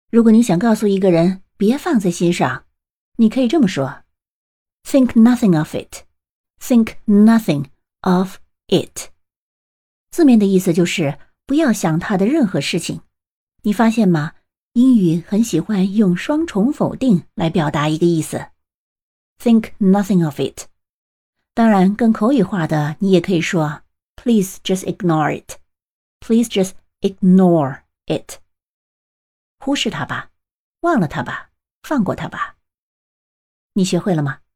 如果你想告诉一个人别放在心上，你可以这么说 Think nothing of it. Think nothing of it. 字面的意思就是不要想他的任何事情。你发现吗？英语很喜欢用双重否定来表达一个意思。Think nothing of it. 当然，更口语化的，你也可以说 Please just ignore it. Please just ignore it. 忽视它吧，忘了它吧，放过它吧。你学会了吗？